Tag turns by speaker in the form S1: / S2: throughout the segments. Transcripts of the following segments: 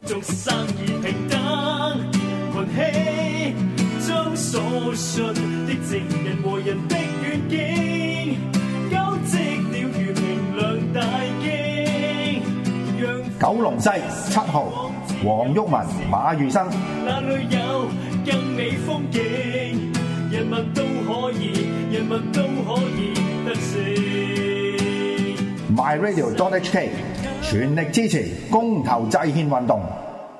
S1: 眾生而平等，群起將所信的正人和人的願景，交織了如明亮大經。
S2: 九龍西7號黃毓民、馬宇生。
S1: 那裏有更美風景，人民都可以得勝。
S2: MyRadio.HK 全力支持公投制憲運動。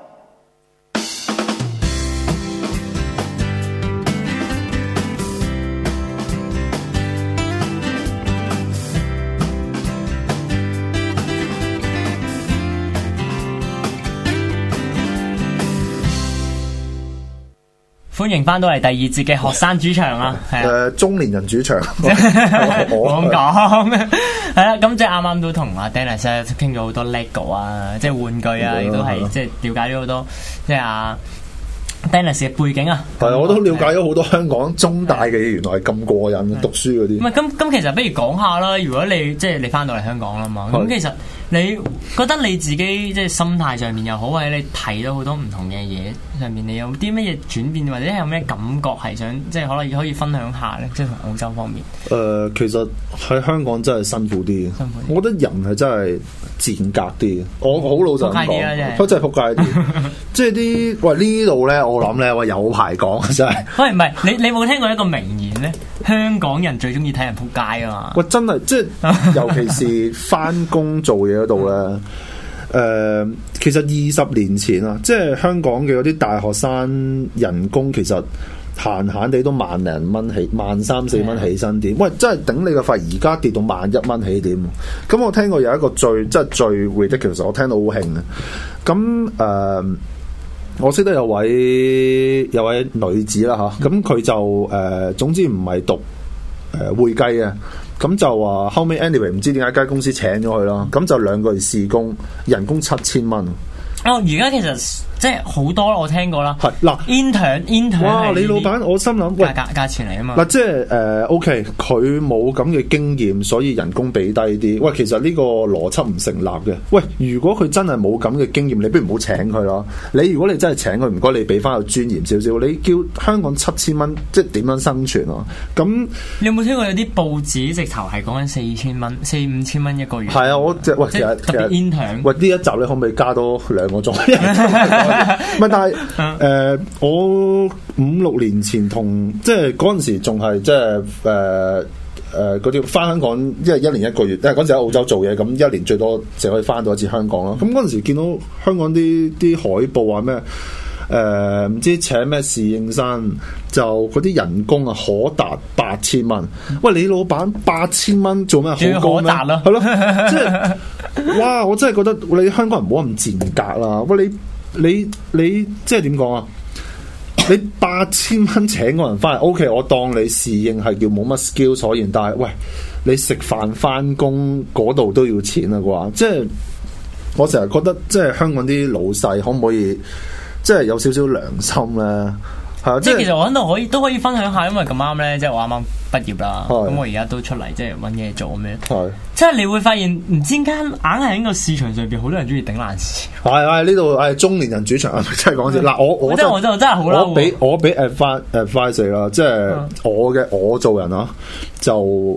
S3: 歡迎翻到嚟第二節嘅學生主場啊，係啊，
S4: 中年人主場，
S3: 我咁講，係啦，咁即係啱啱都同阿 Dennis 傾咗好多 LEGO 啊，即係玩具啊，亦都係即係了解咗好多，即係阿 Dennis 嘅背景啊。
S4: 係啊，我都了解咗好多香港中大嘅嘢，原來係咁過癮，讀書嗰啲。
S3: 唔係咁其實不如講下啦。如果你即係你翻到嚟香港啦嘛，咁其實你覺得你自己即係心態上面又好，或者你睇到好多唔同嘅嘢上面，你有啲乜嘢轉變，或者有咩感覺係想即係可以分享下咧？即係同澳洲方面。
S4: 其實喺香港真係辛苦啲，我覺得人係真係賤格啲。我好老實講，都真係仆街啲。即係啲呢度咧，我諗咧有排講真係。
S3: 喂，唔係你冇聽過一個名言咧？香港人最中意睇人仆街啊嘛！
S4: 喂，真係即係，尤其是翻工做嘢嗰度咧。其實20年前啊，即係香港嘅嗰啲大學生人工其實閒閒地都萬零蚊起，13,4蚊起薪點。喂，真係頂你個肺！而家跌到11蚊起點。咁我聽過有一個最 ridiculous， 我聽到好興嘅。咁我識得有位女子啦嚇，咁佢就總之唔係讀會計嘅。咁就話後尾 anyway 唔知點解間公司請咗佢啦，咁就2個月試工，人工7,000蚊。
S3: 哦，而家其實即係好多我聽過啦。係嗱 intern
S4: 哇！你老闆我心諗，喂，
S3: 價錢嚟啊嘛。
S4: 嗱，即係OK，佢冇咁嘅經驗，所以人工俾低啲。喂，其實呢個邏輯唔成立嘅。喂，如果佢真係冇咁嘅經驗，你不如唔好請佢咯。如果你真係請佢，唔該你俾翻個尊嚴少少。你叫香港7,000蚊，即係點樣生存啊？咁
S3: 你有冇聽過有啲報紙直頭係講緊4,000蚊、4,000-5,000蚊一個月？
S4: 係啊，我即係其實
S3: 特別 intern。
S4: 喂，呢一集你可唔可以加多2個鐘？唔係，但係我5-6年前即係嗰陣時仲係即係嗰啲翻香港，因為1年1個月，因為嗰陣時喺澳洲做嘢，咁1年最多就可以翻到一次香港咯。咁嗰陣時見到香港啲海報話咩？唔知請咩侍應生，就嗰啲人工啊可達8,000蚊。喂，你老闆8,000蚊做咩好高咩？係咯，即係哇！我真係覺得你香港人唔好咁賤格啦。喂，你即係點講啊？你8,000蚊請個人翻嚟 ，OK， 我當你侍應係叫冇乜 skill 所言，但係喂，你食飯翻工嗰度都要錢啦啩？即係我成日覺得，即係香港啲老細可唔可以？即係有少少良心咧，係啊！即係其
S3: 實我喺度都可以分享下，因為咁啱咧，即係我啱啱畢業啦，咁我而家都出嚟即係揾嘢做咁樣。係，即係你會發現唔知點解硬係喺個市場上邊好多人中意頂爛市。
S4: 係呢度係中年人主場，真係講笑。嗱，我真
S3: 係好嬲。
S4: 我俾 advice 啦，即係我做人啊，就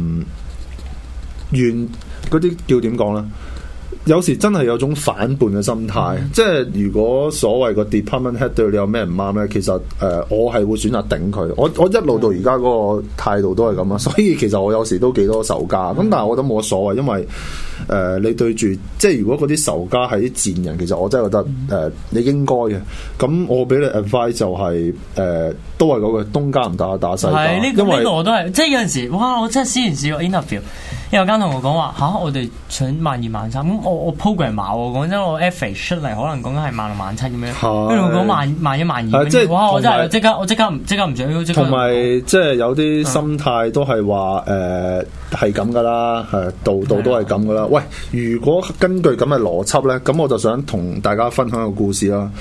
S4: 願嗰啲叫點講咧？有時真係有種反叛嘅心態，即係如果所謂個 department head 對你有咩唔啱咧，其實我係會選擇頂佢。我一路到而家嗰個態度都係咁啊，所以其實我有時都幾多仇家。咁但係我覺得冇乜所謂，因為你對住即係如果嗰啲仇家係啲賤人，其實我真係覺得你應該嘅。咁我俾你 advice 就係都係嗰個東家唔打西家。因為
S3: 我都係即係有陣時，哇！我真係之前試過 interview。有間同我講話嚇，我哋想12,000、13,000，咁我 program 碼喎，講真我 average 出嚟可能講緊係16,000、17,000咁樣，跟住我講11,000、12,000，
S4: 即係
S3: 哇！我真係即刻唔想，
S4: 同埋即係有啲心態都係話係咁噶啦，係度都係咁噶啦。喂，如果根據咁嘅邏輯咧，咁我就想同大家分享一個故事啦。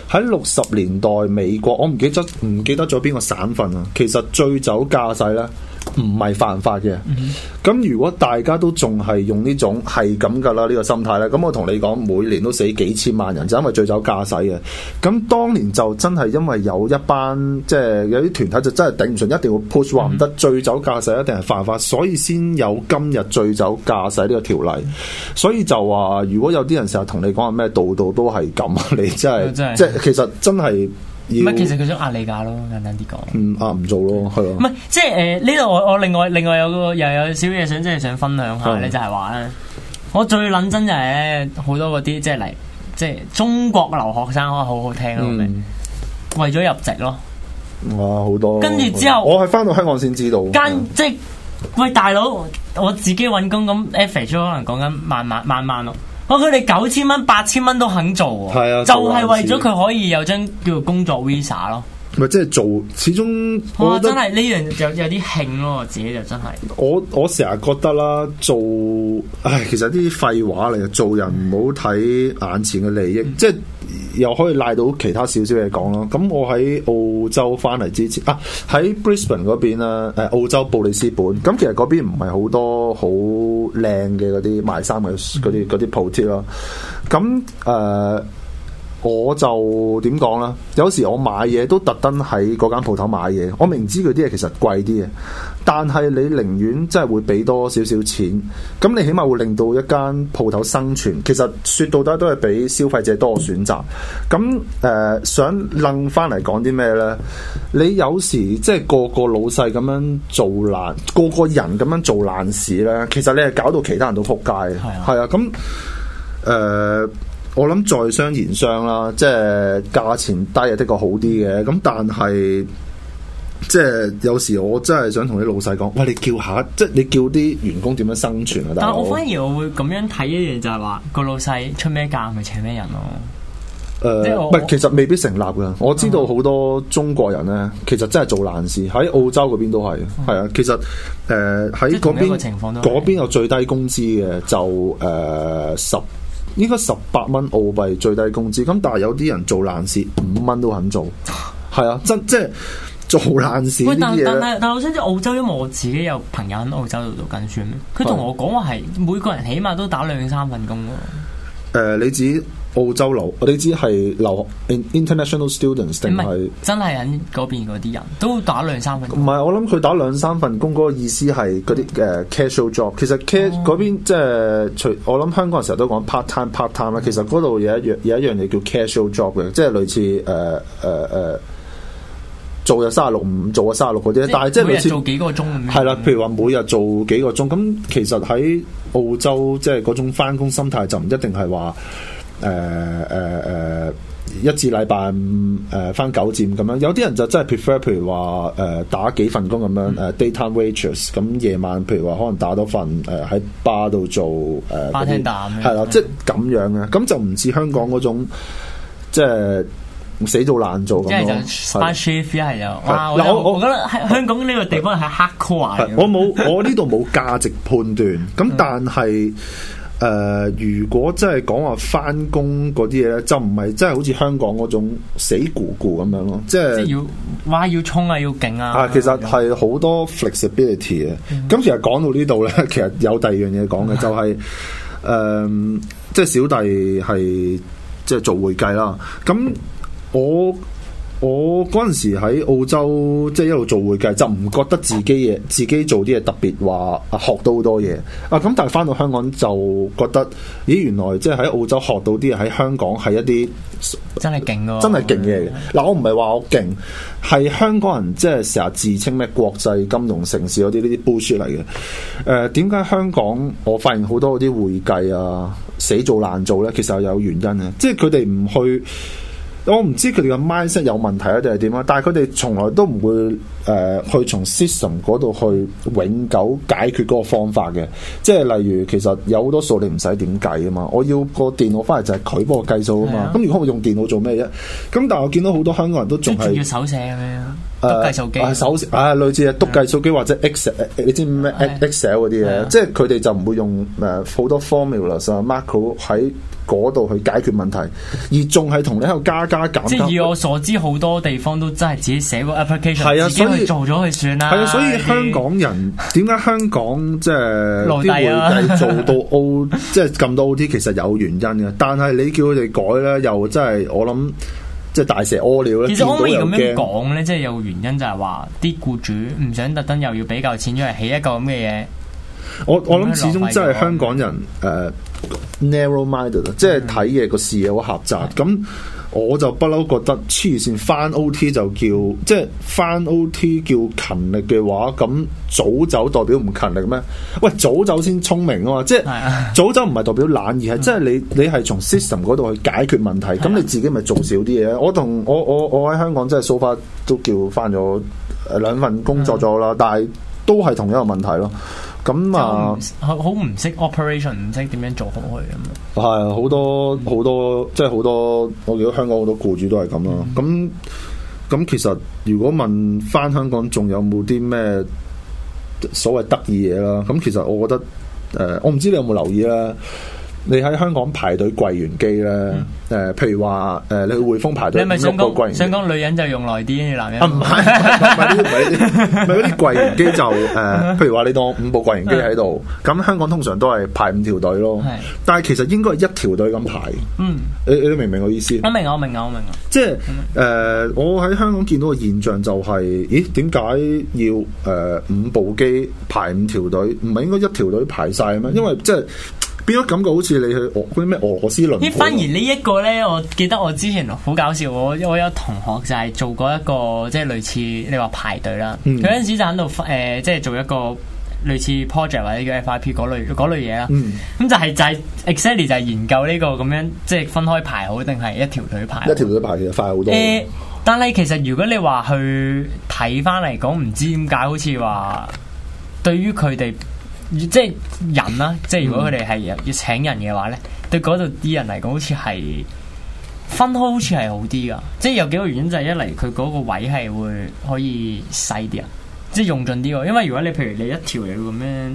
S4: 喺60年代美國，我唔記得咗邊個省份啊。其實醉酒駕駛咧唔係犯法嘅。咁如果大家都仲係用呢種係咁噶啦呢個心態咧，咁我同你講，每年都死幾千萬人，就因為醉酒駕駛嘅。咁當年就真係因為有一班即係有啲團體就真係頂唔順，一定要 push 話唔得，醉酒駕駛一定係犯法，所以先有今日醉酒駕駛呢個條例。所以就話如果有啲人成日同你講話咩度度都係咁，你真係即係其實真係。
S3: 唔係，其實佢想壓你價咯，簡單啲講。
S4: 壓唔做咯，係咯。
S3: 唔係，即係呢度我另外有個又有少嘢想即係想分享下咧，就係話咧，我最撚真就係咧好多嗰啲即係嚟即係中國留學生可好好聽咯，為咗入籍咯。
S4: 哇，好多。跟
S3: 住之後，
S4: 我係翻到香港先知道。
S3: 即係喂大佬，我自己揾工咁 average 可能講緊萬咯。佢哋9000蚊、8000蚊都肯做喎，係啊，就係為咗佢可以有張叫做工作 visa 咯。
S4: 咪即係做，始終
S3: 我真係呢樣有啲興咯，我自己就真係。
S4: 我成日覺得啦，其實啲廢話嚟，做人唔好睇眼前嘅利益，即係又可以賴到其他少少嘢講咯。咁我喺澳洲翻嚟之前喺 Brisbane 嗰邊啦，澳洲布里斯本。咁其實嗰邊唔係好多好靚嘅嗰啲賣衫嘅嗰啲鋪貼咯。咁我就點講啦？有時我買嘢都特登喺嗰間鋪頭買嘢，我明知佢啲嘢其實貴啲嘅，但係你寧願真係會俾多少少錢，咁你起碼會令到一間鋪頭生存。其實說到底都係俾消費者多個選擇。咁想楞翻嚟講啲咩呢？你有時即係個個老細咁樣做爛，個個人咁樣做爛事呢，其實你係搞到其他人都仆街嘅。係啊，咁我諗在商言商啦，即係價錢低係的確好啲嘅，咁但係即係有時我真係想同啲老細講，喂，你叫下，即係你叫啲員工點樣生存啊？但係
S3: 我反而我會咁樣睇一樣，就係話個老細出咩價咪請咩人咯。
S4: 唔係，其實未必成立㗎。我知道好多中國人咧，其實真係做爛事，喺澳洲嗰邊都係，係啊。其實喺嗰邊有最低工資嘅，就應該18蚊澳幣最低工資，咁但係有啲人做爛事5蚊都肯做，係啊，即係做爛事呢啲嘢。
S3: 但我想知澳洲，因為我自己有朋友喺澳洲度讀緊書，佢同我講話係每個人起碼都打2-3份工咯。
S4: 你指澳洲你知係留 international students 定係
S3: 真係喺嗰邊嗰啲人都打2-3份工？
S4: 唔係，我諗佢打2-3份工嗰個意思係嗰啲casual job。其實嗰邊即係我諗香港人成日都講 part time 啦。其實嗰度有一樣嘢叫 casual job 嘅，即係類似做日36唔做啊36嗰啲，但係即係類似
S3: 做幾個鐘咁樣。
S4: 係啦，譬如話每日做幾個鐘，咁其實喺澳洲即係嗰種返工心態就唔一定係話1至禮拜5返9至5咁樣，有啲人就真係 prefer 譬如話打幾份工咁樣daytime waitress， 咁夜晚譬如話可能打多份喺bar度做
S3: bartender咁樣，
S4: 係啦，即係咁樣嘅，咁就唔似香港嗰種即係死做爛做咁咯。
S3: 即係就班 chef 係有。我覺得喺香港呢個地方係 hardcore 嘅。
S4: 我呢度冇價值判斷，咁但係。如果真係講話返工嗰啲嘢咧，就唔係真係好似香港嗰種死咕咕咁樣咯，即係
S3: 要衝啊，要勁啊！
S4: 其實係好多 flexibility 嘅。咁其實講到呢度咧，其實有第二樣嘢講嘅，就係即係小弟係即係做會計啦。咁我嗰陣時喺澳洲，即係一路做會計，就唔覺得自己做啲嘢特別話學到好多嘢啊！咁但係翻到香港就覺得，咦，原來即係喺澳洲學到啲嘢喺香港係一啲
S3: 真係勁咯，
S4: 真係勁嘢嘅。嗱，我唔係話我勁，係香港人即係成日自稱咩國際金融城市嗰啲呢啲 bullshit 嚟嘅。點解香港我發現好多嗰啲會計啊死做爛做咧？其實有原因嘅，即係佢哋唔去。我唔知佢哋嘅 mindset 有問題啊，定係點啊？但係佢哋從來都唔會去從 system 嗰度去永久解決嗰個方法嘅。即係例如，其實有好多數你唔使點計啊嘛。我要個電腦翻嚟就係佢幫我計數啊嘛。咁如果我用電腦做咩啫？咁但係我見到好多香港人都仲係
S3: 要手寫咁樣。 篤計數機，
S4: 手類似啊篤計數機或者 Excel， 你知咩 Excel 嗰啲嘢，即係佢哋就唔會用好多 formulas 啊 macro 喺嗰度去解決問題，而仲係同你喺度加減。
S3: 即係以我所知，好多地方都真係自己寫個 application，自己去做咗佢算啦。
S4: 係啊，所以香港人點解香港即係啲會計做到 O， 即係咁多 OT， 其實有原因嘅。但係你叫佢哋改咧，又真係我諗即係大蛇屙尿咧。
S3: 其實可唔可以咁樣講咧？即係有原因就係話啲僱主唔想特登又要俾夠錢出嚟起一個咁嘅嘢。
S4: 我諗始終真係香港人narrow-minded， 即係睇嘢個視野好狹窄。咁我就不嬲覺得黐線翻 OT 就叫即係翻 OT 叫勤力嘅話，咁早走代表唔勤力咩？喂，早走先聰明啊嘛！即係早走唔係代表懶，而係即係你係從 system 嗰度去解決問題。咁你自己咪做少啲嘢。我喺香港真係 so far 都叫翻咗2份工作咗啦，但係都係同一個問題咯。咁啊，
S3: 好唔識 operation， 唔識點樣做好佢咁。
S4: 係好多，即係好多。我見到香港好多僱主都係咁咯。咁其實如果問翻香港仲有冇啲咩所謂得意嘢啦？咁其實我覺得我唔知你有冇留意啦。你喺香港排隊櫃員機咧，譬如話你去匯豐排隊，
S3: 你係咪想講女人就用耐啲，男人
S4: 唔係嗰啲櫃員機就譬如話你當5部櫃員機喺度，咁香港通常都係排5條隊咯。但係其實應該係1條隊咁排。你明唔明我意思？
S3: 我明啊。
S4: 即係我喺香港見到嘅現象就係，咦？點解要5部機排5條隊？唔係應該1條隊排晒咩？因為即係。變咗感覺好似你去嗰啲咩俄羅斯輪盤。
S3: 反而呢一個咧，我記得我之前好搞笑，我有同學就係做過一個即係類似你話排隊啦。佢嗰陣時就喺度即係做一個類似 project 或者叫 FIP 嗰類嘢啦。咁就係 exactly 就係研究呢個咁樣，即係分開排好定係一條隊排？一條
S4: 隊排其實快好多。
S3: 但係其實如果你話去睇翻嚟講，唔知點解好似話對於佢哋。即係人啦，即係如果佢哋係要請人嘅話咧，對嗰度啲人嚟講，好似係分開，好似係好啲噶。即係有幾個原因，就係一嚟佢嗰個位係會可以細啲啊，即係用盡啲喎。因為如果你譬如你一條嘢咁樣。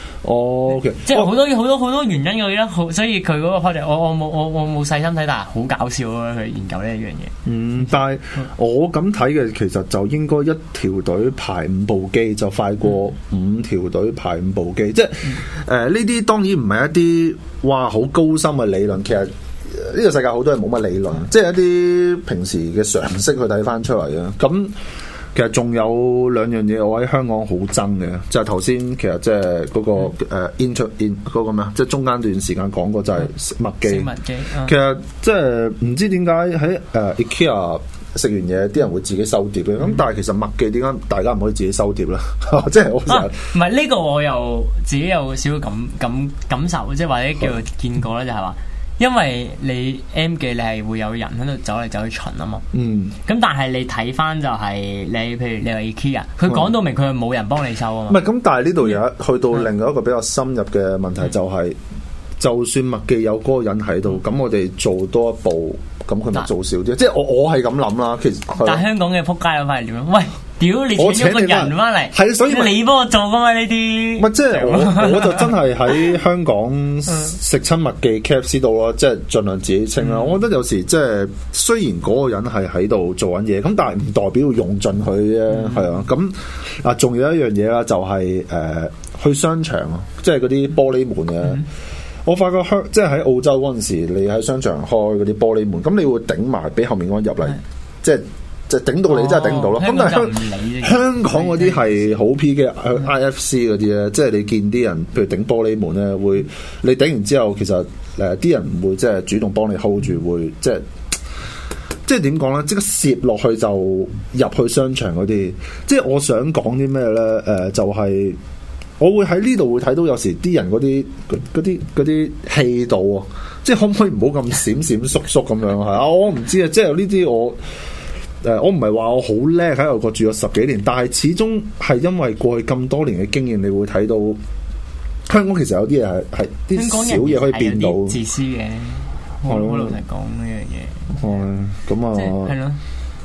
S4: Okay.
S3: 即係好多原因嘅咧，所以佢嗰個 project 我冇細心睇，但係好搞笑咯，佢研究呢一樣嘢。
S4: 但係我咁睇嘅，其實就應該1條隊排5部機就快過5條隊排5部機。即係呢啲當然唔係一啲哇好高深嘅理論，其實呢個世界好多人冇乜理論，即係一啲平時嘅常識去睇翻出嚟啊。咁其實仲有2樣嘢，我喺香港好憎嘅，就係頭先其實即係嗰個in 嗰個咩啊，即係中間段時間講過就係麥記。其實即係唔知點解喺IKEA 食完嘢，啲人會自己收碟嘅。咁但係其實麥記點解大家唔可以自己收碟咧？即係我成日
S3: 唔係呢個，我又自己有少少感受，即係或者叫做見過咧，就係話。因為你 M 記你係會有人喺度走嚟走去巡啊嘛，咁但係你睇翻就係你譬如你話 IKEA，佢講到明佢係冇人幫你收啊嘛。唔係
S4: 咁，但係呢度有去到另外一個比較深入嘅問題，就係就算麥記有嗰個人喺度，咁我哋做多一步，咁佢咪做少啲？即係我係咁諗啦。其實
S3: 但係香港嘅仆街諗法係點樣？喂！屌你請咗個人翻嚟，
S4: 係所以
S3: 你幫我做噶嘛呢啲？
S4: 唔係即係我就真係喺香港食親麥記 KFC 度咯，即係盡量自己清啦。我覺得有時即係雖然嗰個人係喺度做緊嘢，咁但係唔代表要用盡佢啫，係啊。咁啊，仲有一樣嘢啦，就係去商場啊，即係嗰啲玻璃門嘅。我發覺即係喺澳洲嗰陣時，你喺商場開嗰啲玻璃門，咁你會頂埋俾後面嗰人入嚟，即係頂到你真係頂唔到咯。咁但係香港嗰啲係好 P 嘅 IFC 嗰啲咧，即係你見啲人，譬如頂玻璃門咧，會你頂完之後，其實啲人唔會即係主動幫你 hold 住，會即係點講咧？即刻攝落去就入去商場嗰啲。即係我想講啲咩咧？就係我會喺呢度會睇到有時啲人嗰啲氣度啊，即係可唔可以唔好咁閃閃縮縮咁樣係啊？我唔知啊，即係呢啲我唔係話我好叻喺外國住咗10幾年，但係始終係因為過去咁多年嘅經驗，你會睇到香港其實有啲嘢係啲小嘢可以變到
S3: 自私嘅。我老實講呢樣嘢。
S4: 咁啊，
S3: 係咯。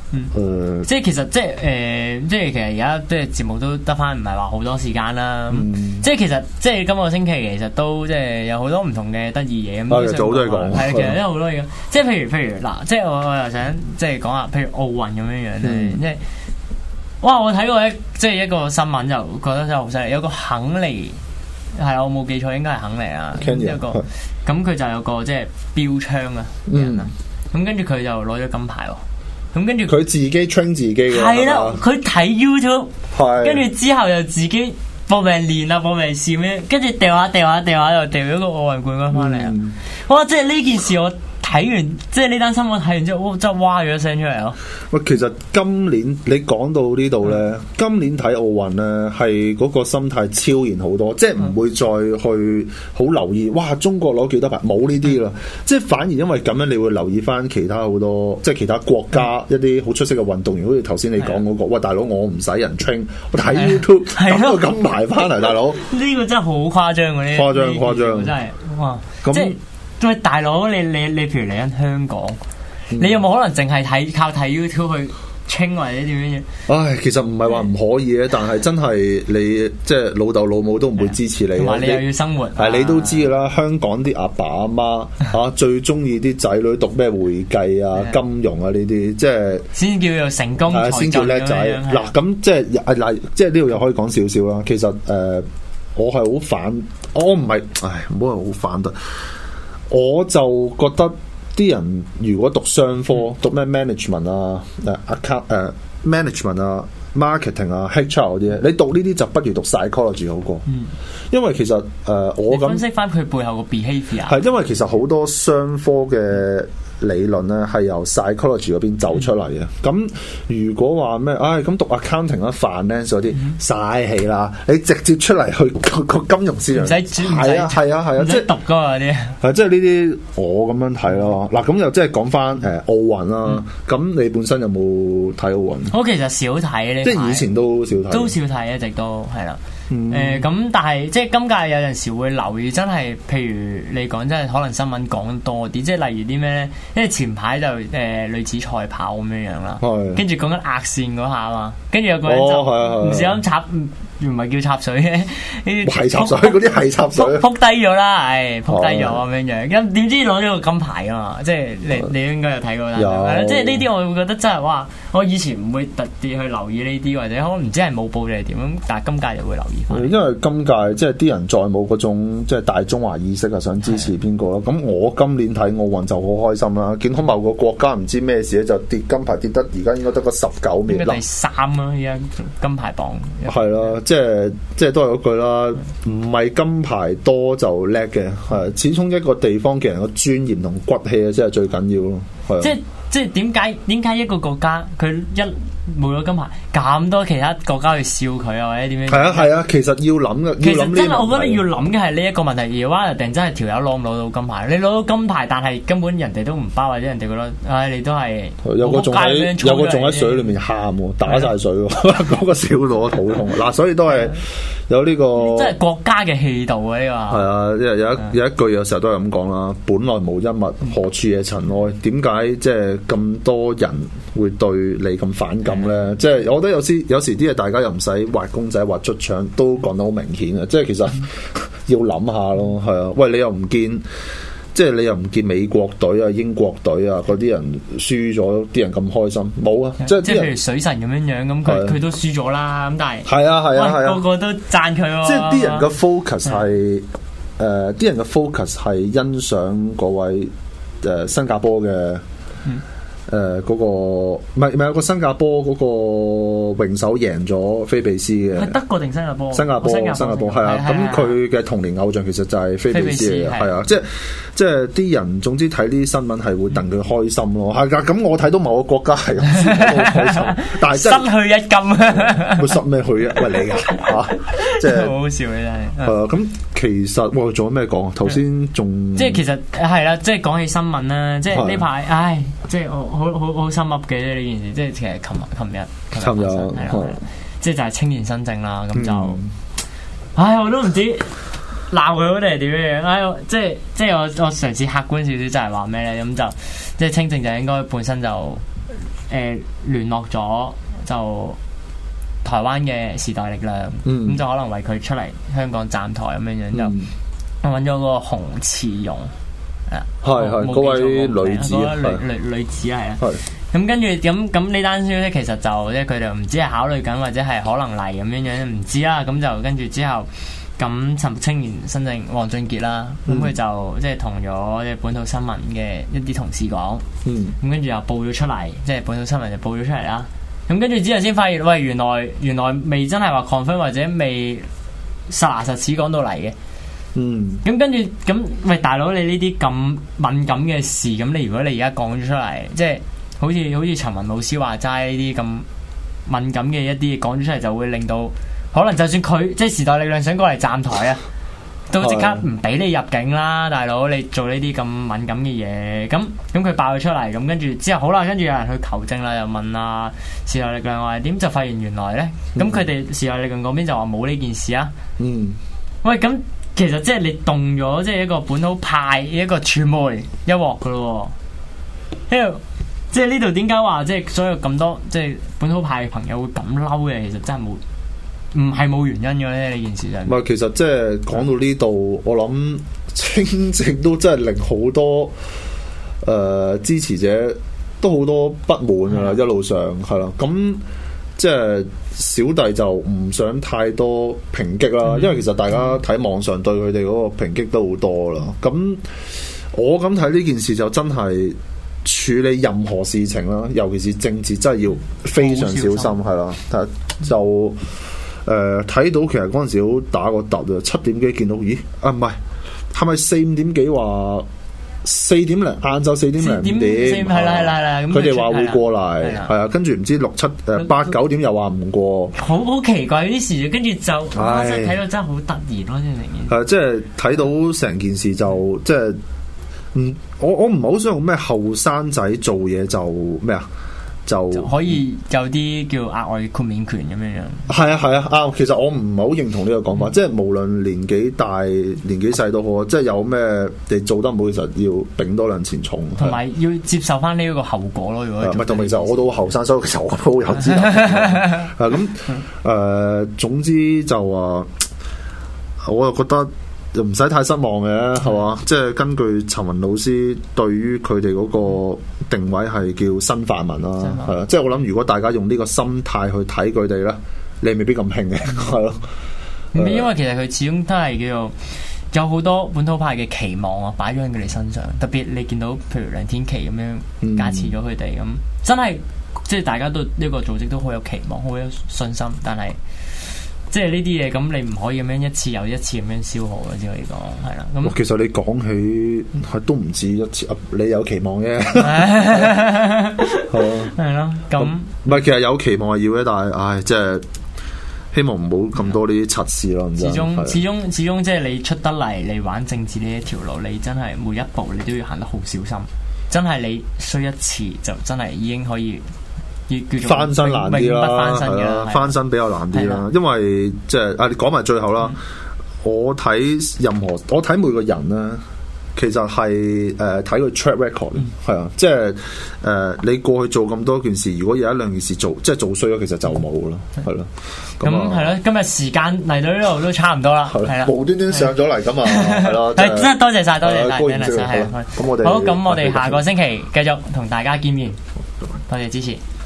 S3: 即係其實即係其實而家即係節目都得翻唔係話好多時間啦。即係其實即係今個星期其實都即係有好多唔同嘅得意嘢咁。
S4: 早都係講。
S3: 係其實都有好多嘢。即係譬如嗱，即係我又想即係講下，譬如奧運咁樣樣咧，即係哇！我睇過即係一個新聞就覺得真係好犀利，有個肯尼係我冇記錯應該係肯尼啊，一個咁佢就有個即係標槍啊人啊，咁跟住佢就攞咗金牌喎。咁跟住
S4: 佢自己 train 自己嘅，
S3: 係啦，佢睇 YouTube， 跟住之後又自己搏命練啊，搏命試咩，跟住掉下又掉咗個奧運冠軍翻嚟啊！哇！即係呢件事我睇完，即係呢單新聞睇完之後，真係哇咗一聲出嚟咯。
S4: 喂，其實今年你講到呢度咧，今年睇奧運咧係嗰個心態超然好多，即係唔會再去好留意哇中國攞幾多牌，冇呢啲啦。即係反而因為咁樣，你會留意翻其他好多即係其他國家一啲好出色嘅運動員，好似頭先你講嗰個，喂大佬我唔使人 train， 我睇 YouTube 揼個金牌翻嚟，大佬
S3: 呢個真係好誇張嗰啲，誇張真係哇！即係。喂，大佬，你譬如嚟緊香港，你有冇可能淨係靠睇 YouTube 去清或者點樣嘢？
S4: 唉，其實唔係話唔可以嘅，但係真係你即係老豆老母都唔會支持你。
S3: 同埋你又要生活，
S4: 係你都知㗎啦。香港啲阿爸阿媽嚇最中意啲仔女讀咩會計啊、金融啊呢啲，即係先
S3: 叫做成功，
S4: 先叫叻仔。嗱咁即係嗱，即係呢度又可以講少少啦。其實我係好反，我唔係，唔好話好反對。我就覺得啲人如果讀商科，讀咩 management 啊、management 啊、marketing 啊、HR 嗰啲，你讀呢啲就不如讀 psychology 好過。因為其實我咁
S3: 分析翻佢背後個 behaviour
S4: 係因為其實好多商科嘅理論咧係由 psychology 嗰邊走出嚟嘅。咁如果話咩，咁讀 accounting 啊、finance 嗰啲嘥氣啦，你直接出嚟去個金融市場，
S3: 唔使係啊，即係讀噶嘛啲。
S4: 係即係呢啲我咁樣睇咯。嗱咁又即係講翻奧運啦。咁你本身有冇睇奧運？
S3: 我其實少睇呢，
S4: 即係以前都少
S3: 睇，一直都係啦。咁但係即係今屆有陣時會留意，真係譬如你講真係可能新聞講多啲，即係例如啲咩咧？因為前排就女子賽跑咁樣樣啦，跟住講緊壓線嗰下嘛，跟住有個人就唔小心插，唔係叫插水嘅，呢啲
S4: 係插水，嗰啲係插水，
S3: 撲低咗啦，撲低咗咁樣樣，咁點知攞咗個金牌啊嘛？即係你應該有睇過啦，即係呢啲我會覺得真係哇！我以前唔會特別去留意呢啲，或者可能唔知係冇報定係點咁，但係今屆就會留意翻。
S4: 因為今屆即係啲人再冇嗰種即係大中華意識啊，想支持邊個咯？咁我今年睇奧運就好開心啦！見到某個國家唔知咩事咧，就跌金牌跌得而家應該得個19秒啦，
S3: 第3啦，而家金牌榜
S4: 係啦，即係都係嗰句啦，唔係金牌多就叻嘅，係始終一個地方嘅人嘅尊嚴同骨氣啊，先係最緊要咯。
S3: 即係點解一個國家佢一冇咗金牌，咁多其他國家去笑佢啊，或者點樣？
S4: 係啊，其實要諗嘅，
S3: 其實真係我覺得要諗嘅係呢一個問題。而話定真係條友攞唔攞到金牌？你攞到金牌，但係根本人哋都唔包，或者人哋覺得，你都係
S4: 有個仲喺水裏面喊喎，打晒水喎，嗰個笑到我肚痛。嗱，所以都係有呢個，
S3: 即係國家嘅氣度啊！呢個係
S4: 啊，有一句有時候都係咁講啦，本來無一物，何處惹塵埃？點解即係咁多人會對你咁反感咧？即係我覺得有時啲嘢大家又唔使畫公仔畫出腸，都講得好明顯嘅。即係其實要諗下咯，係啊。喂，你又唔見，即係你又唔見美國隊啊、英國隊啊嗰啲人輸咗，啲人咁開心冇啊？即係
S3: 譬如水神咁樣咁，佢都輸咗啦。咁但係
S4: 係啊，
S3: 個個都讚佢喎。
S4: 即係啲人嘅 focus 係啲人嘅 focus 係欣賞嗰位新加坡嘅。嗰個唔係有個新加坡嗰個泳手贏咗菲比斯嘅，
S3: 係德國定新加坡？新加
S4: 坡係啊，咁佢嘅童年偶像其實就係菲比斯嚟嘅，係啊，即係啲人總之睇呢啲新聞係會戥佢開心咯，係㗎。咁我睇到某個國家係咁開心，但係真係
S3: 失去一金，
S4: 會失咩去啊？喂你㗎即係
S3: 好好笑嘅真係。
S4: 咁其實仲有咩講？頭先仲
S3: 即係其實係啦，即係講起新聞啦，即係呢排即係好心噏嘅呢件事，即係其實琴日即係就係青年新政啦，咁就，我都唔知鬧佢定係點樣，即係我嘗試客觀少少，就係話咩咧？咁就即係青政就應該本身就聯絡咗就台灣嘅時代力量，咁就可能為佢出嚟香港站台咁樣樣，就揾咗個洪慈容，
S4: 係嗰位女子，
S3: 女子係啊。咁跟住咁呢單消息其實就即係佢哋唔知係考慮緊或者係可能嚟咁樣樣，唔知啦。咁就跟住之後，咁陳青年新政黃俊傑啦，咁佢就即係同咗即係本土新聞嘅一啲同事講，咁跟住又報咗出嚟，即係本土新聞就報咗出嚟啦。咁跟住之後先發現，喂，原來未真係話 confirm 或者未實牙實齒講到嚟嘅。咁跟住咁，喂，大佬，你呢啲咁敏感嘅事，咁你如果你而家講咗出嚟，即係好似陳雲老師話齋呢啲咁敏感嘅一啲嘢講咗出嚟，就會令到可能就算佢即係時代力量想過嚟站台啊，都即刻唔俾你入境啦，大佬，你做呢啲咁敏感嘅嘢，咁佢爆咗出嚟，咁跟住之後好啦，跟住有人去求證啦，又問啊時代力量話點，就發現原來咧，咁佢哋時代力量嗰邊就話冇呢件事啊。喂，咁其實即係你動咗即係一個本土派一個傳媒一鑊噶咯，因為即係呢度點解話即係所有咁多即係本土派嘅朋友會咁嬲嘅？其實真係唔係冇原因嘅咧，呢件事就唔
S4: 係。其實即係講到呢度，我諗清正都真係令好多支持者都好多不滿噶啦，一路上係啦。咁即係小弟就唔想太多抨擊啦，因為其實大家睇網上對佢哋嗰個抨擊都好多啦。咁我咁睇呢件事就真係處理任何事情啦，尤其是政治真係要非常小心係啦。但就睇到其實嗰陣時好打個突啊，7點幾見到，咦啊唔係，係咪4、5點幾話4點零晏晝4點零點
S3: 係啦，
S4: 佢哋話會過嚟係啊，跟住唔知6、7、8、9點又話唔過，
S3: 好奇怪啲事，跟住就真係睇到真係好突然咯，
S4: 即係睇到成件事就即係我唔係好想用咩後生仔做嘢就咩啊？就
S3: 可以有啲叫額外豁免權咁樣樣。
S4: 係啊啱。其實我唔係好認同呢個講法，即係無論年紀大年紀細都好，即係有咩你做得唔好，其實要頂多兩錢重，
S3: 同埋要接受翻呢一個後果咯。如果唔係，
S4: 同埋其實我都後生，所以其實我都好有資格。咁總之就話，我又覺得又唔使太失望嘅，係嘛？即係根據陳雲老師對於佢哋嗰個定位係叫新泛民啦，係啦。即係我諗，如果大家用呢個心態去睇佢哋咧，你未必咁興嘅，係咯。
S3: 因為其實佢始終都係叫做有好多本土派嘅期望啊，擺咗喺佢哋身上。特別你見到譬如梁天琦咁樣加持咗佢哋，咁真係即係大家都呢個組織都好有期望，好有信心，但係。即係呢啲嘢，咁你唔可以咁樣一次又一次咁樣消耗嘅，只可以講係啦。咁
S4: 其實你講起係都唔止一次，你有期望嘅，
S3: 係咯。咁
S4: 唔係，其實有期望係要嘅，但係即係希望唔好咁多呢啲測試咯。始
S3: 終即係你出得嚟，你玩政治呢一條路，你真係每一步你都要行得好小心。真係你衰一次就真係已經可以。
S4: 翻身難啲啦，翻身比較難啲啦，因為即係你講埋最後啦。我睇每個人咧，其實係睇佢 track record，係啊，即係你過去做咁多件事，如果有一兩件事做即係做衰咗，其實就冇啦，係咯。
S3: 咁係咯，今日時間嚟到呢度都差唔多啦，係啦，
S4: 無端端上咗嚟咁啊，係咯，
S3: 係真係多謝晒，
S4: 咁我哋
S3: 好，咁我哋下個星期繼續同大家見面，多謝支持。